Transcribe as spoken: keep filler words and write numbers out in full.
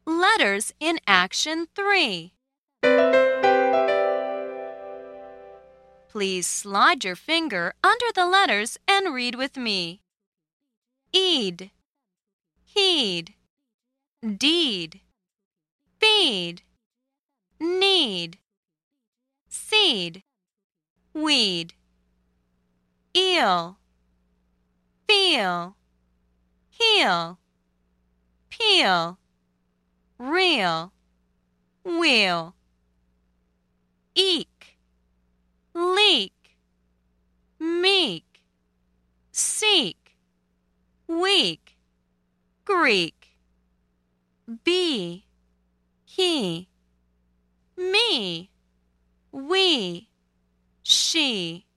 Letters in Action three. Please slide your finger under the letters and read with me. Eed, heed, deed, feed, need, seed, weed, eel, feel, heel, peel, reel, wheel, eek, leak, meek, seek, weak, Greek, be, he, me, we, she.